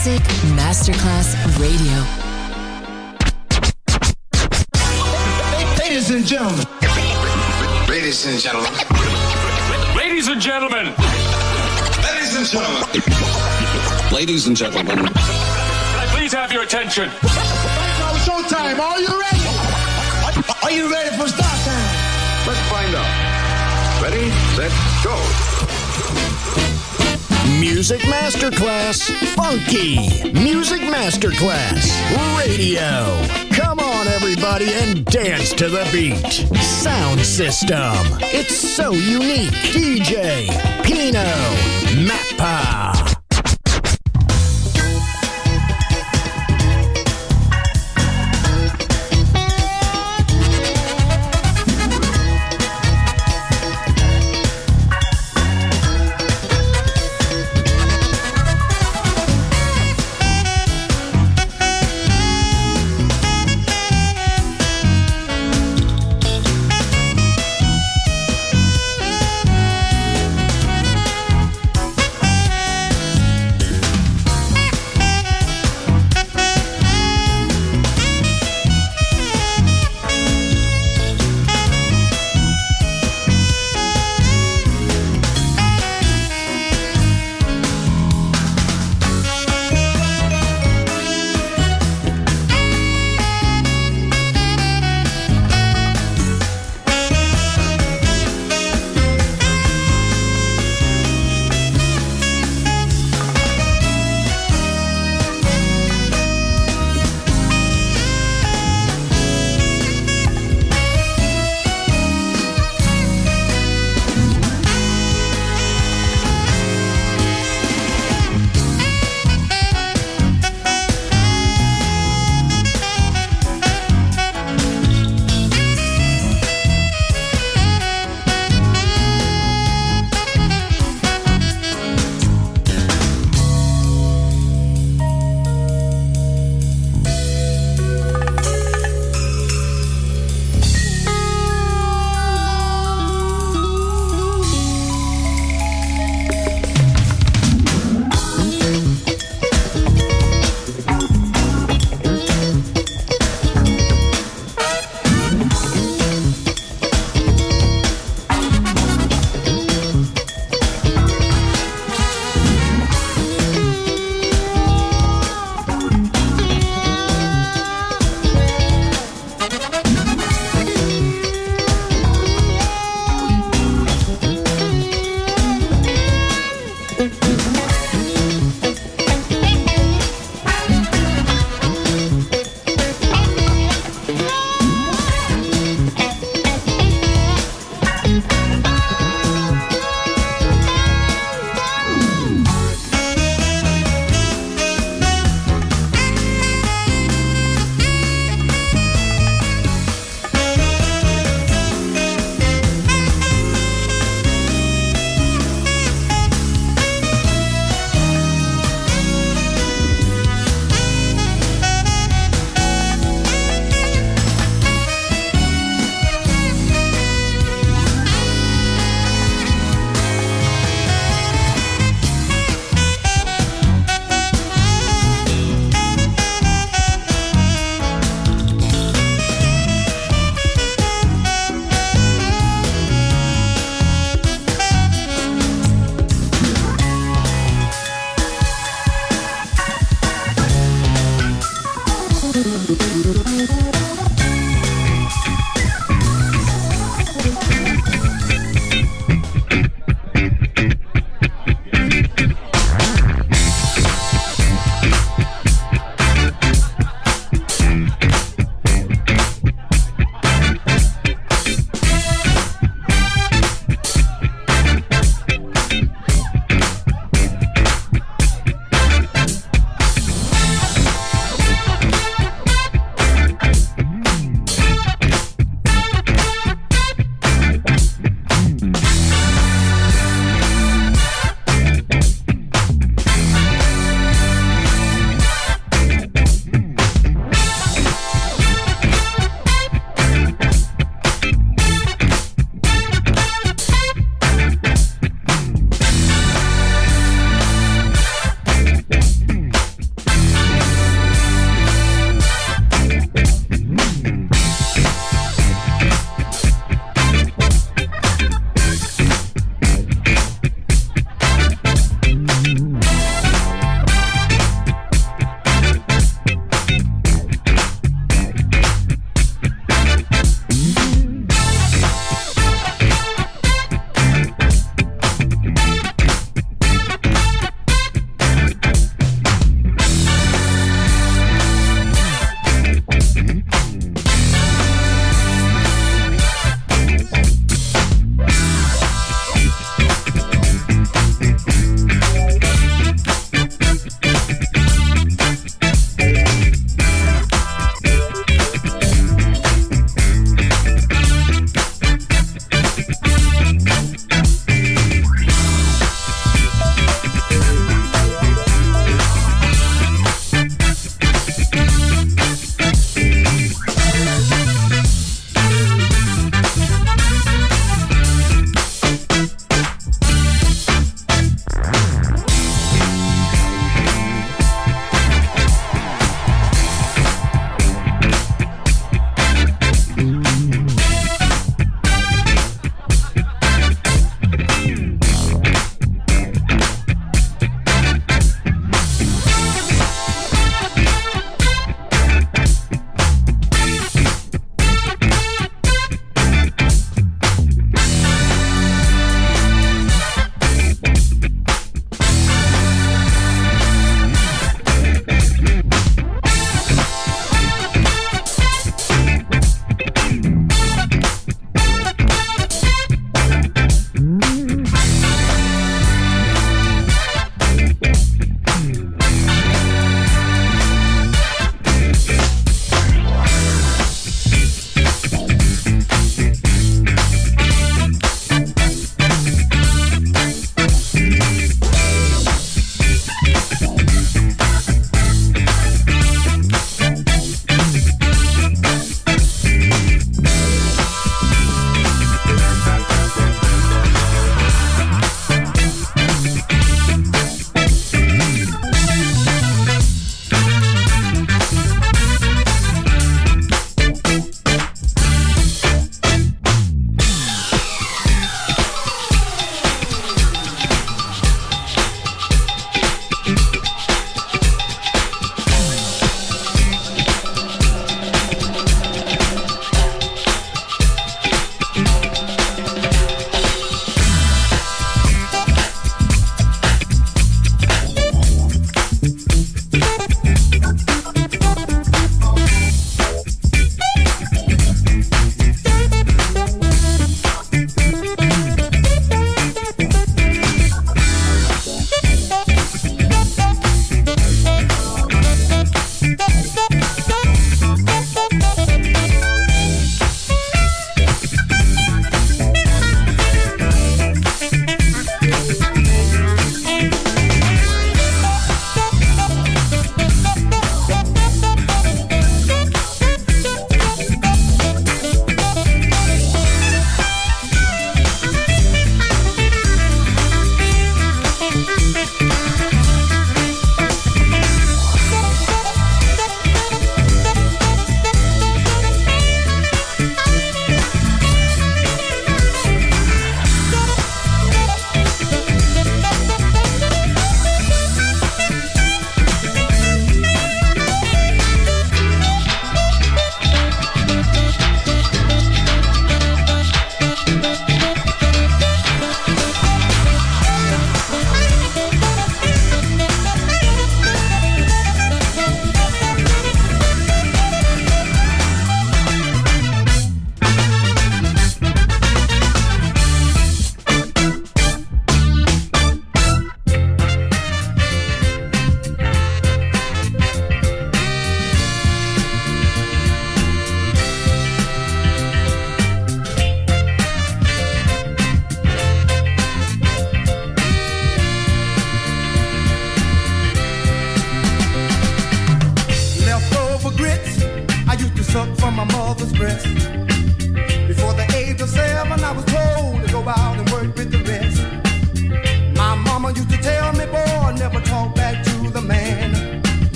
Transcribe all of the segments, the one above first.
Music Masterclass Radio. Ladies and gentlemen. Ladies and gentlemen. Ladies and gentlemen. Ladies and gentlemen. Ladies and gentlemen. Can I please have your attention? Now showtime. Are you ready? Are you ready for start time? Let's find out. Ready, set, go. Music Masterclass Funky. Music Masterclass Radio. Come on, everybody, and dance to the beat. Sound system. It's so unique. DJ Pino Mappa.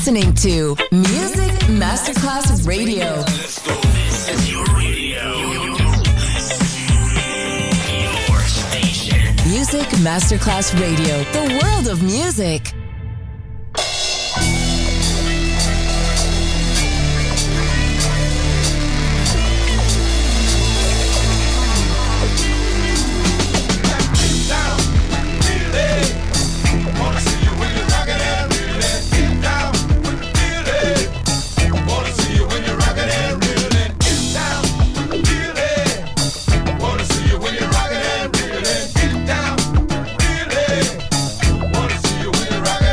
listening to Music Masterclass Radio. Let's go. This is your radio. Your station. Music Masterclass Radio. The world of music. Wanna see you when you're rockin'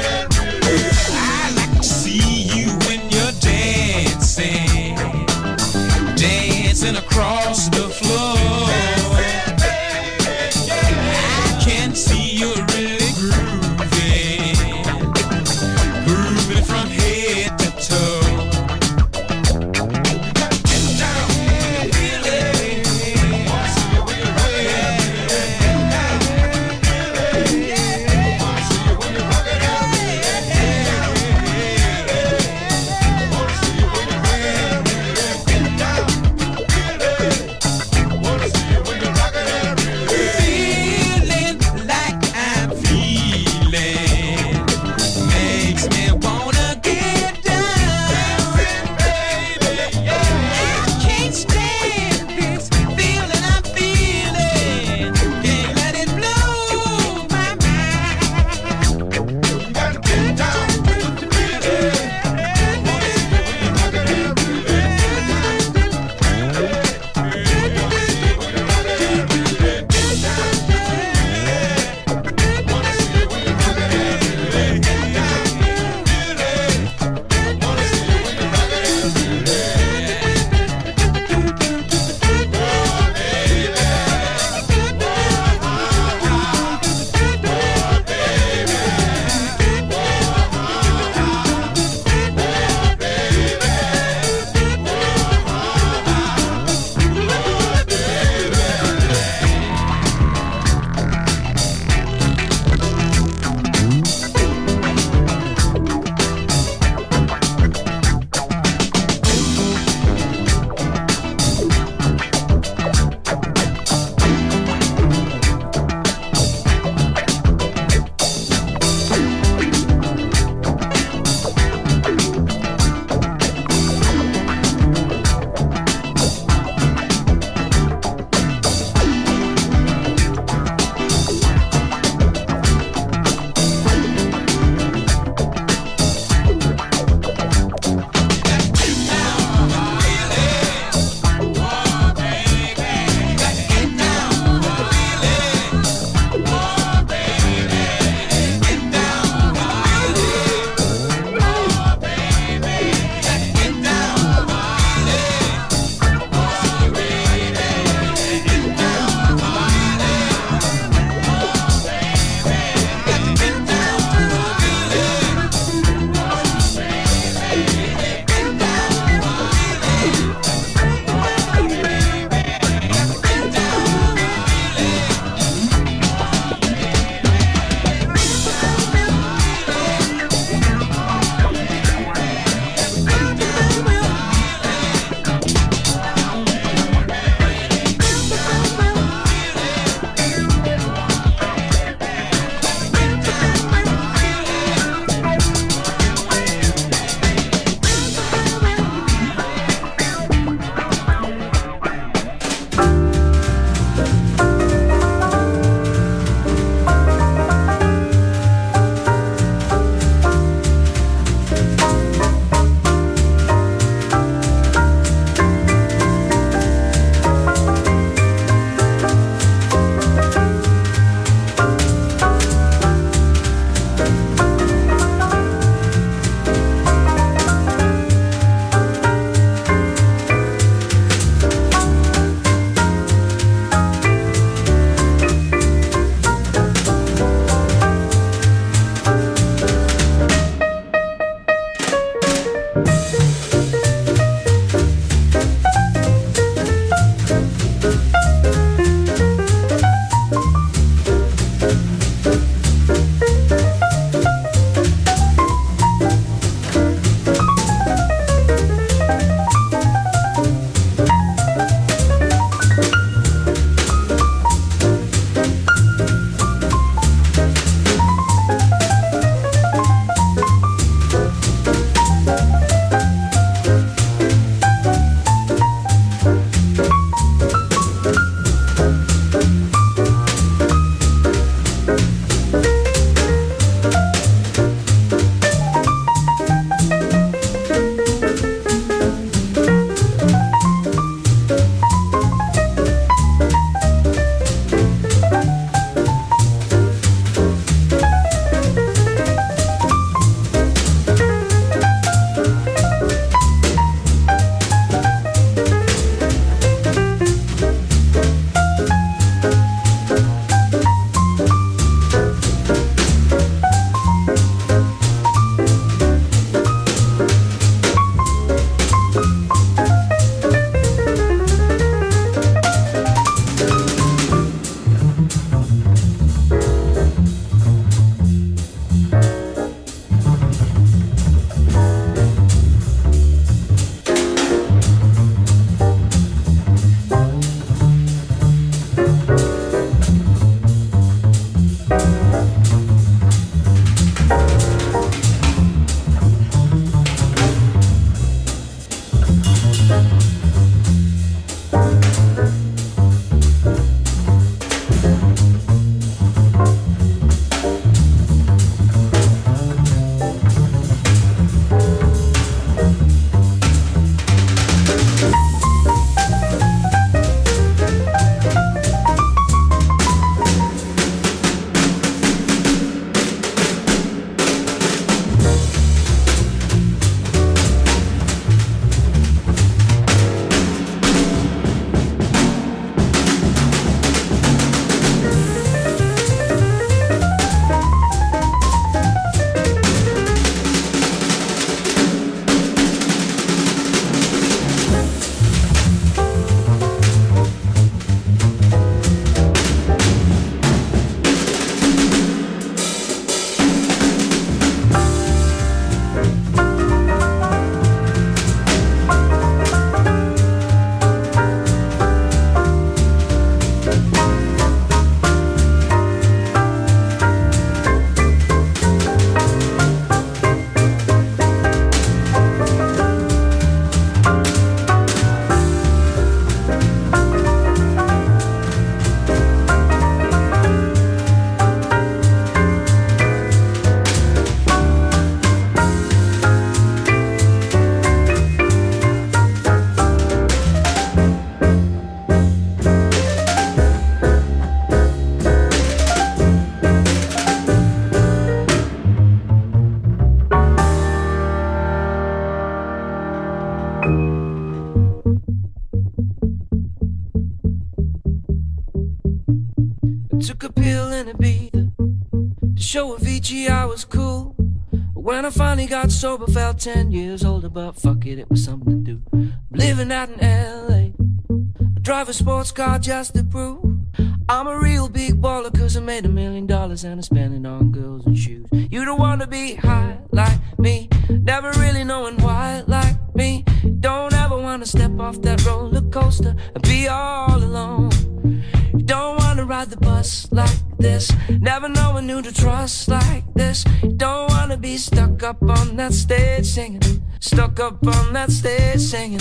took a pill and a beat to show Avicii I was cool. When I finally got sober, felt 10 years older, but fuck it, it was something to do. I'm living out in LA, I drive a sports car just to prove I'm a real big baller, cause I made $1 million and I spent it on girls and shoes. You don't wanna be high like me, never really knowing why like me. Don't ever wanna step off that roller coaster and be all alone. You don't wanna ride the bus like this, never knowing who to trust like this. You don't wanna be stuck up on that stage singing, stuck up on that stage singing.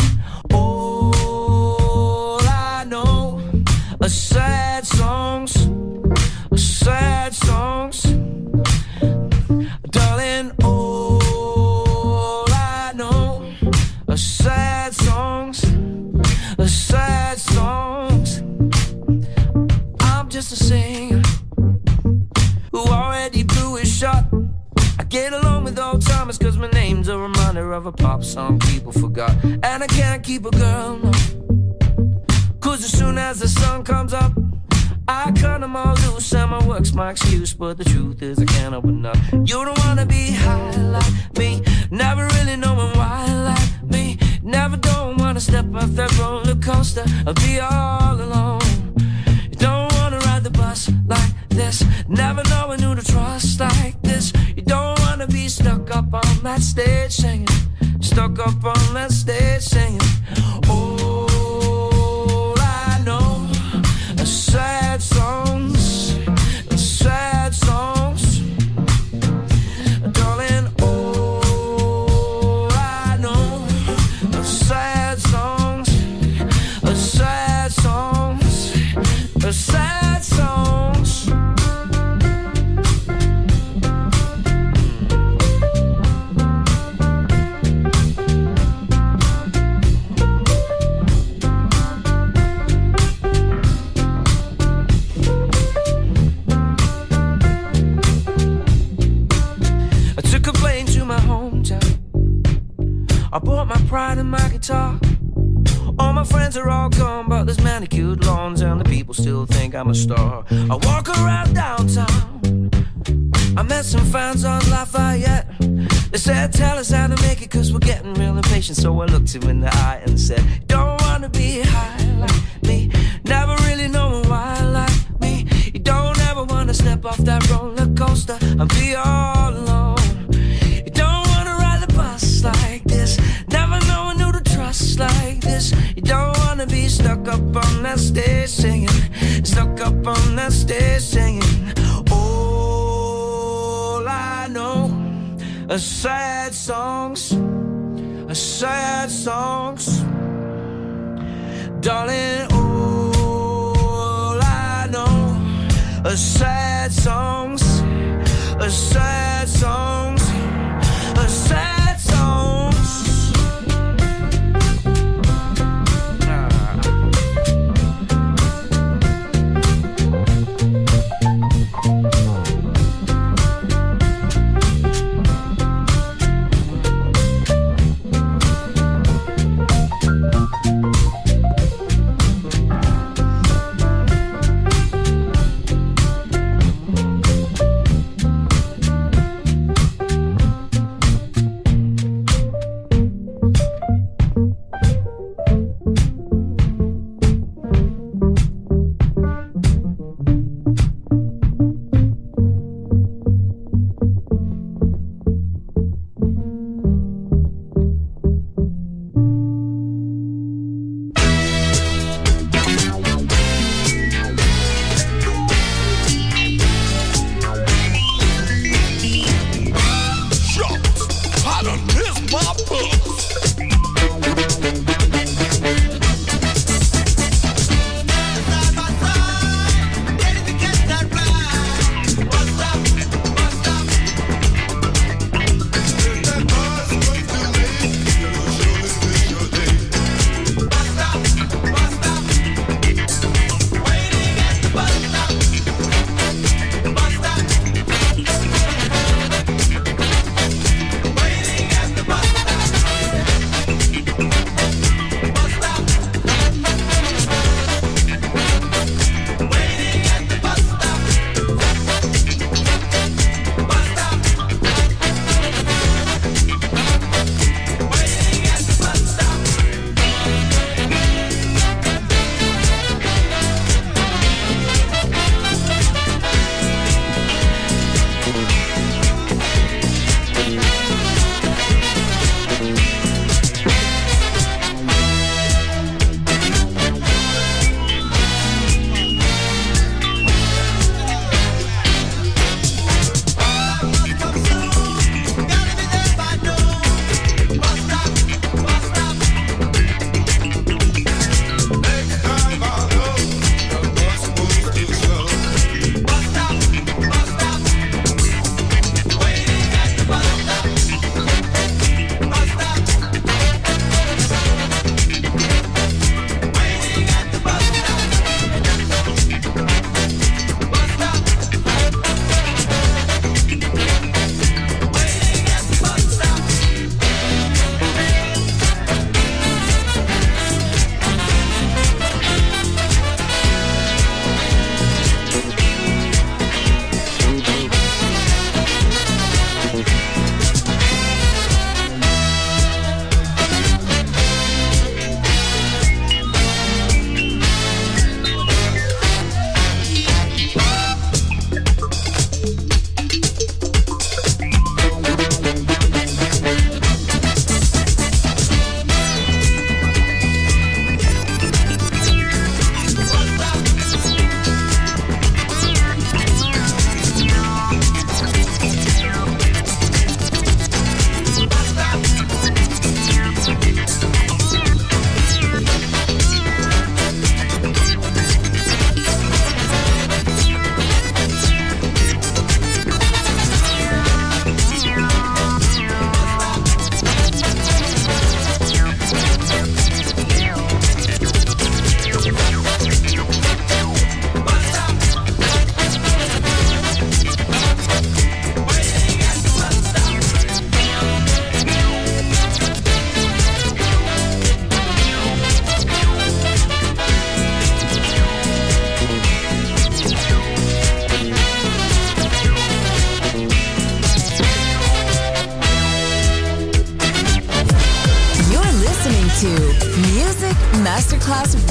All I know are sad songs, sad songs. Darling, all I know are sad songs, sad songs. I'm just a singer who already blew his shot. I get along with old timers cause my name's a reminder of a pop song people forgot. And I can't keep a girl, no, cause as soon as the sun comes up I cut them all loose and my work's my excuse. But the truth is I can't open up. You don't wanna be high like me, never really knowing why like me. Never don't wanna step off that roller coaster or be all alone. You don't wanna ride the bus like this, never knowing who to trust like this. You don't wanna be stuck up on that stage singing, stuck up on that stage singing. All I know are sad songs, sad songs. Darling, all I know are sad songs, sad songs, sad songs. I bought my pride and my guitar. All my friends are all gone, but there's manicured lawns and the people still think I'm a star. I walk around downtown, I met some fans on Lafayette. They said, tell us how to make it cause we're getting real impatient. So I looked him in the eye and said, don't wanna be high like me, never really knowing why like me. You don't ever wanna step off that roller coaster and be all alone. You don't wanna ride the bus like this, never knowing who to trust like this. You don't wanna be stuck up on that stage singing, stuck up on that stage singing. All I know are sad songs, sad songs. Darling, all I know are sad songs, sad songs, sad songs.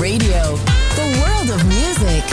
Radio, the world of music.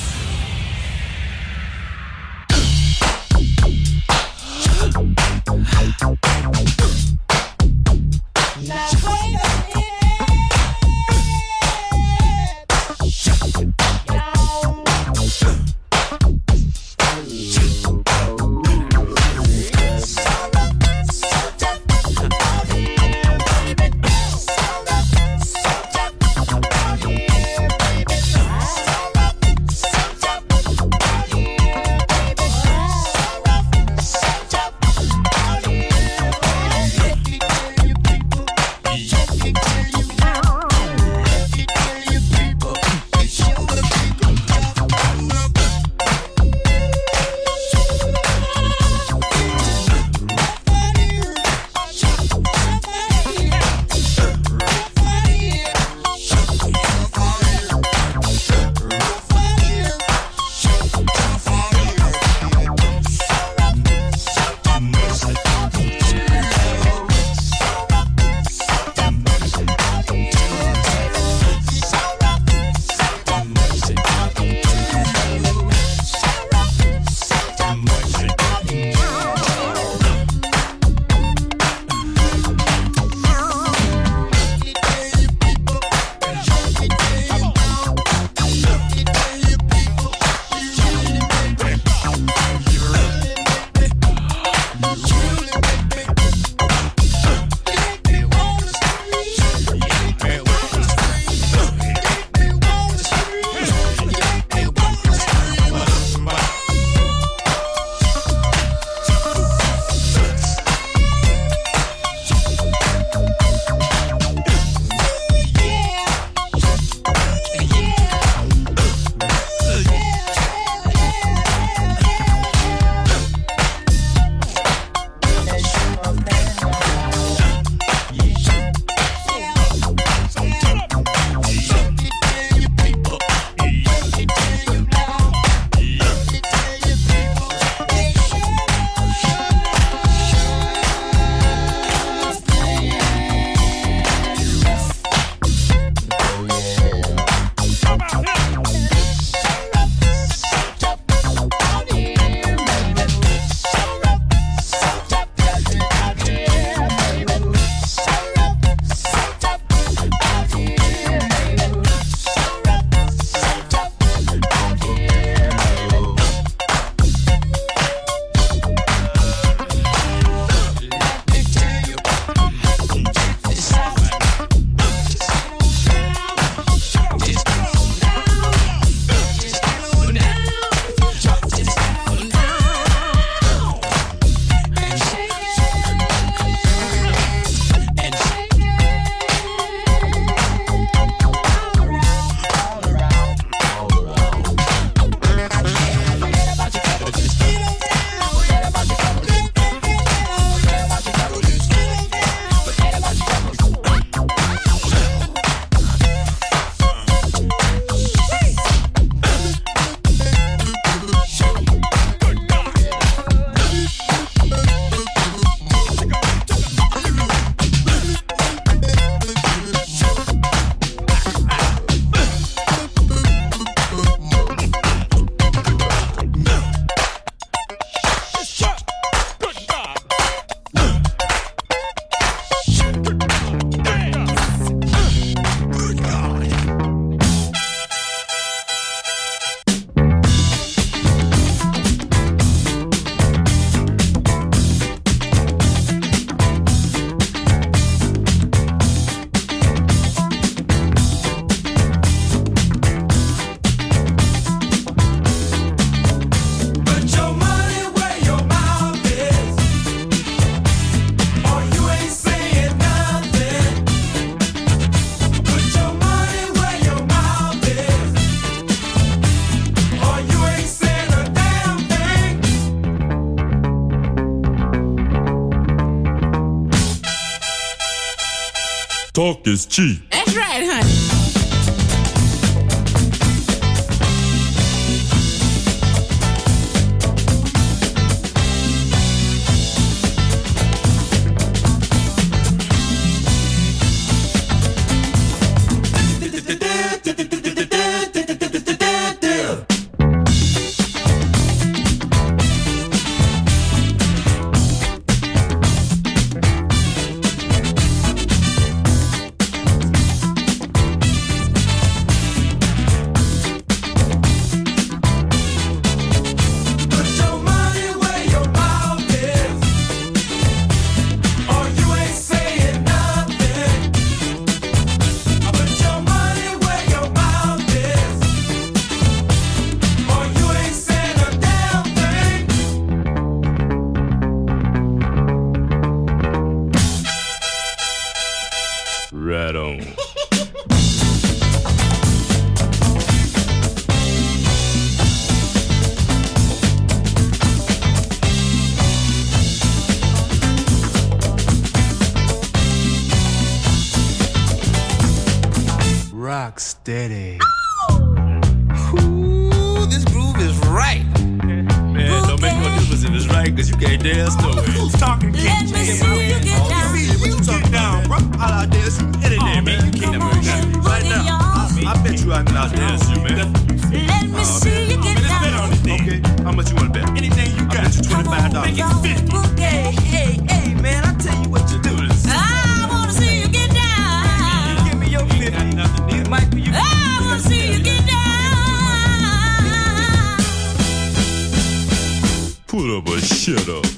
Talk is cheap. That's right, honey. rock steady. Ooh, this groove is right. Man, don't make no difference if it's right, cause you can't dance no way. Who's talking? Let me see you get down. What you talking down, bro? I'll dance any day, man. You can't never dance right now. I bet you I can out dance you, man. Let me see you get down. Okay, how much you want to bet? Anything you got. I bet you $25. Make it 50. Hey, man, I tell you what you do. I wanna see you get down. Give me your 50. It might be you. I wanna see you get down. Put up or shut up.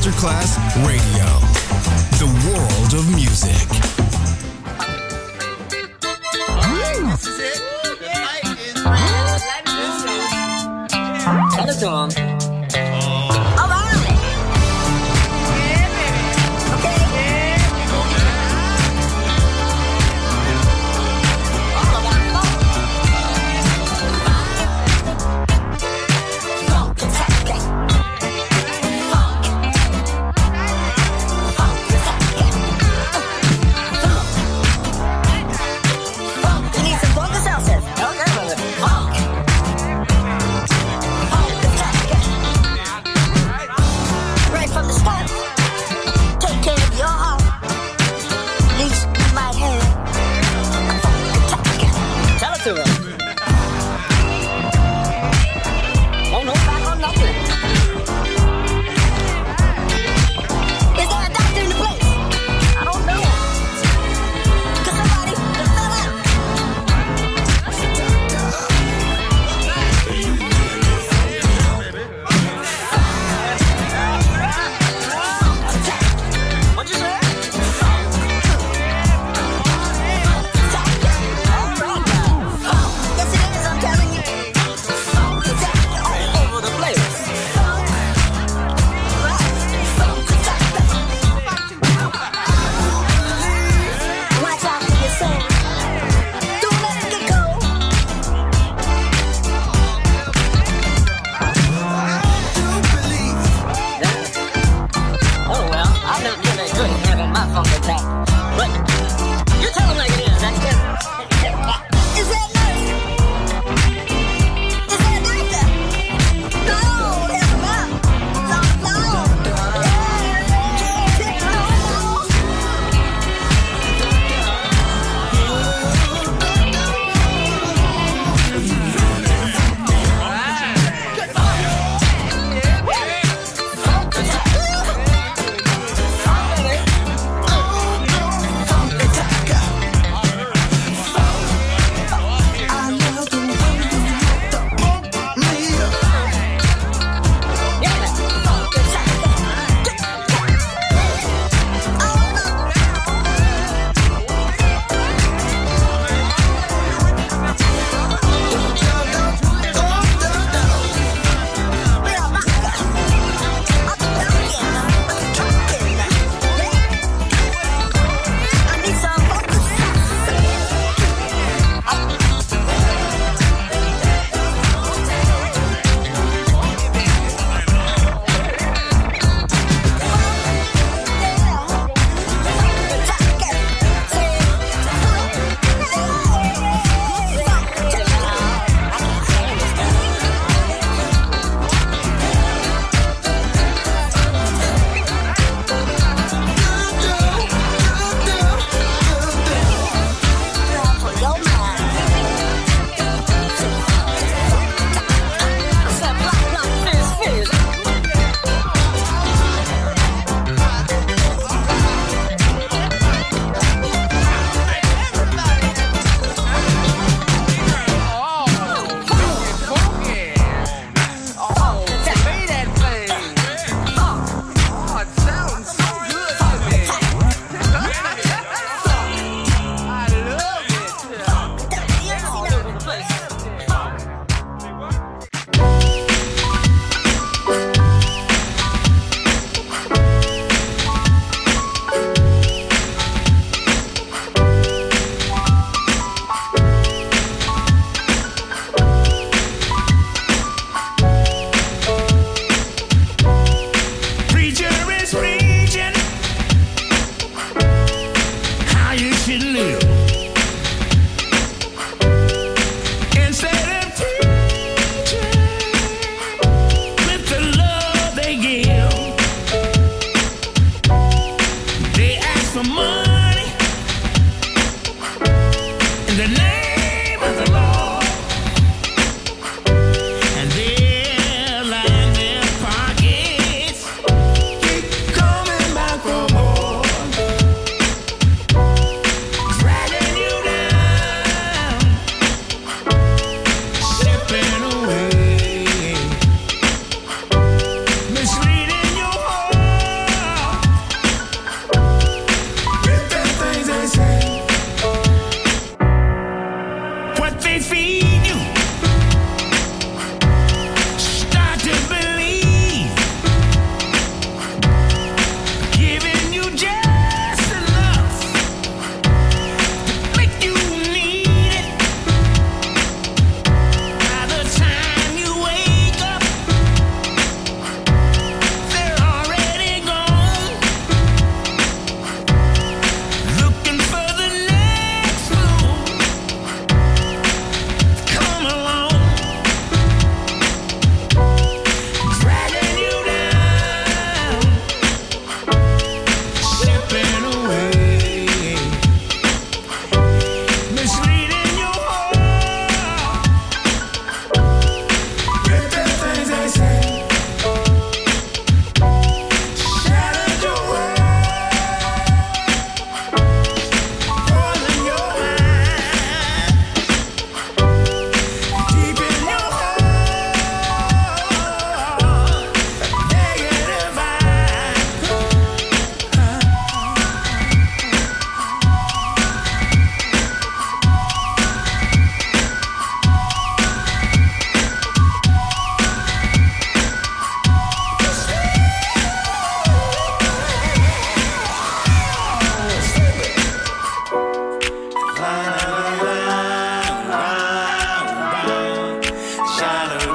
Masterclass Radio, the world of music. This is it. The night is real. Tell it to him. Funk.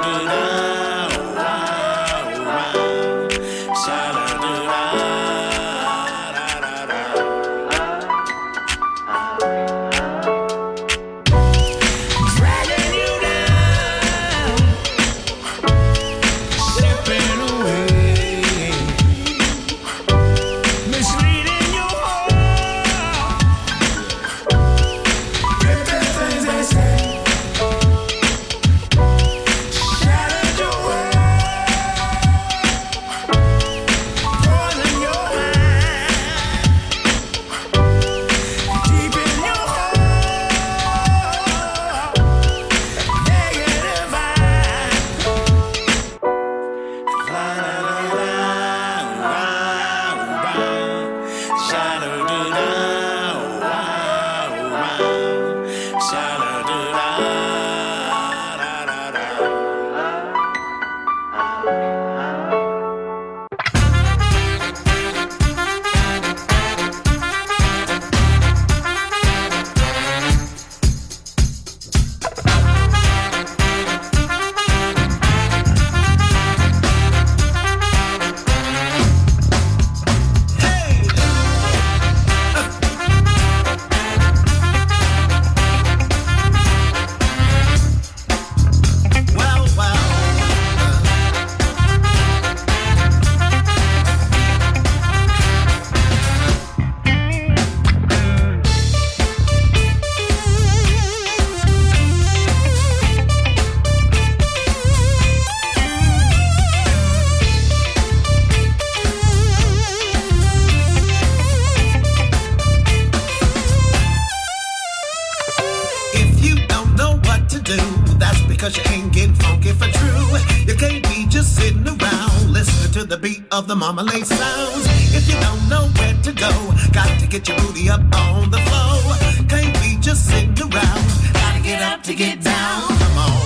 Of the Marmalade sounds. If you don't know where to go, got to get your booty up on the floor. Can't be just sitting around. Gotta get up to get down. Come on.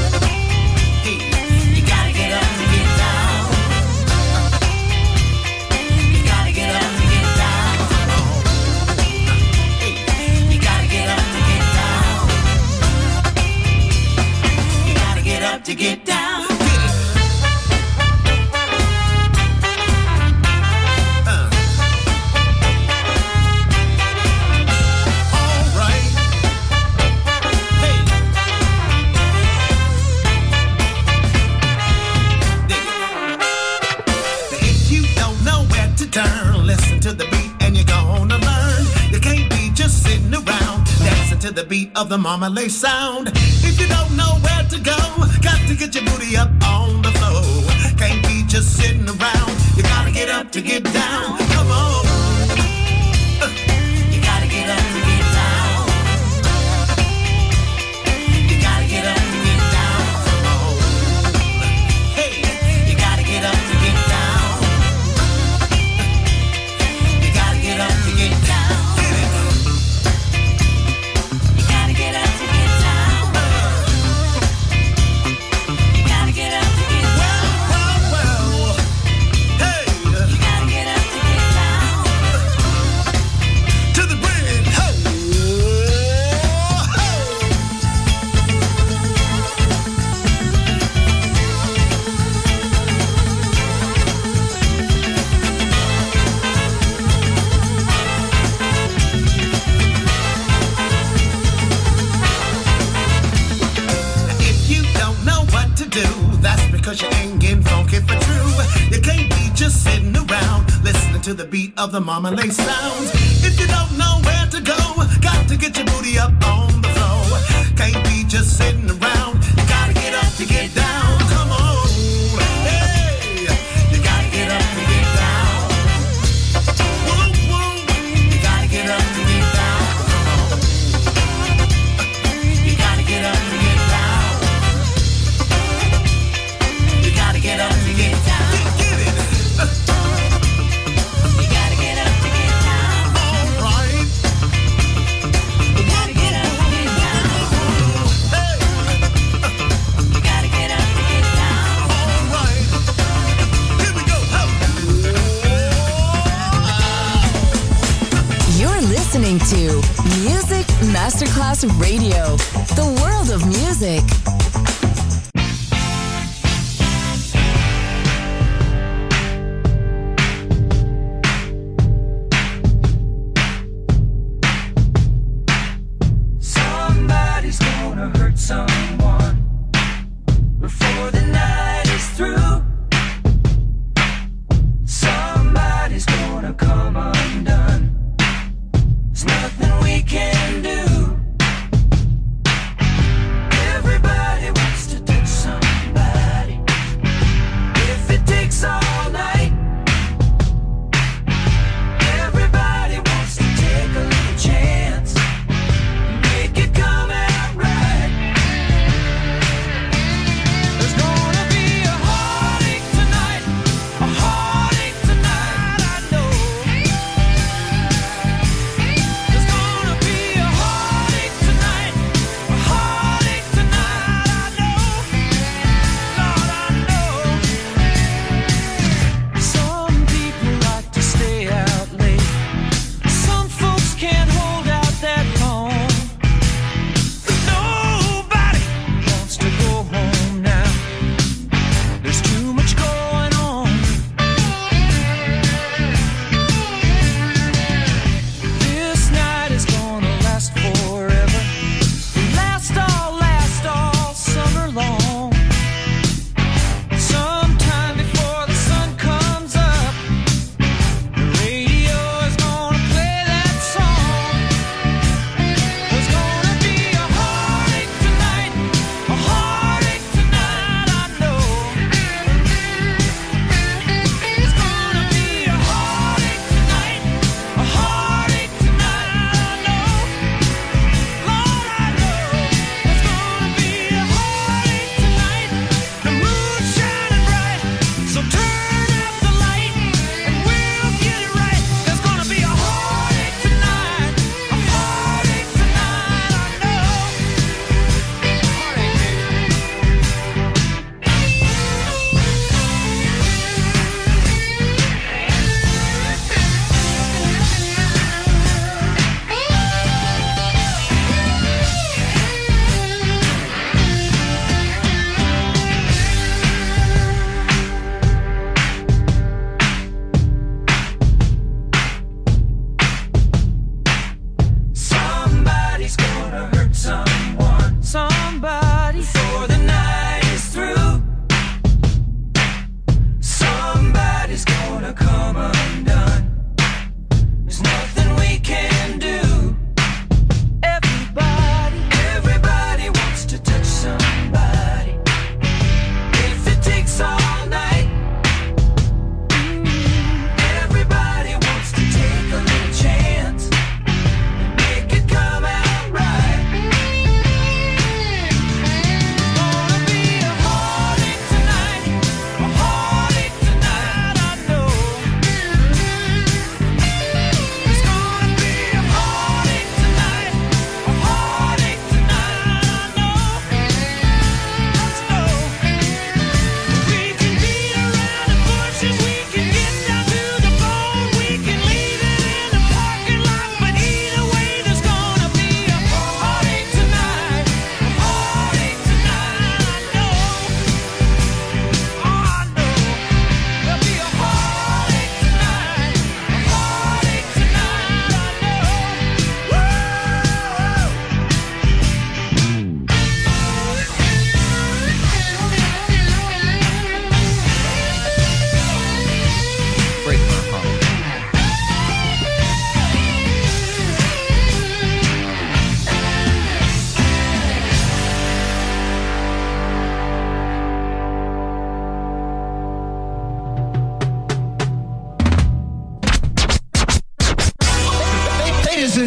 Hey, you gotta get up to get down. You gotta get up to get down. Come on. Hey, you gotta get up to get down. You gotta get up to get down. To the beat of the Marmalade sound. If you don't know where to go, got to get your booty up on the floor. Can't be just sitting around. You gotta get up to get down. Come on. You gotta get up to get down. You gotta get up to get down. Come on. Hey, you gotta get up to get down. You gotta get up to get down. To the beat of the Marmalade sounds. If you don't know where to go, got to get your booty up on the floor. Can't be just sitting around. You gotta get up to get down. Come on. Hey, you gotta get up to get down. Woo, woo. You gotta get up to get down. Come on. You gotta get up to get down. You gotta get up to get down. Get it. Listening to Music Masterclass Radio, the world of music.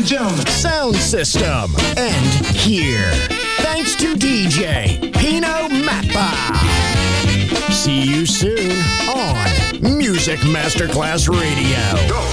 and gentlemen, sound system, and here. Thanks to DJ Pino Mappa. See you soon on Music Masterclass Radio.